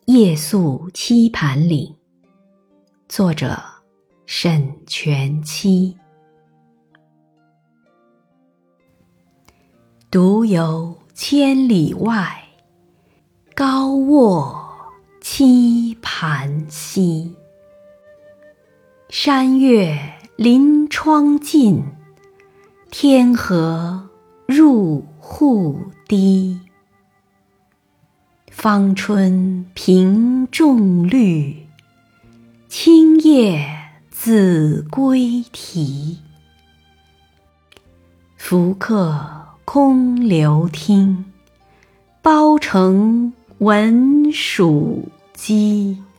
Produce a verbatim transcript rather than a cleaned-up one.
夜宿棋盘岭，作者沈佺期。独游千里外，高卧棋盘西。山月临窗近，天河入户低。芳春屏众绿，青叶子规啼。浮客空留听，包城闻属鸡。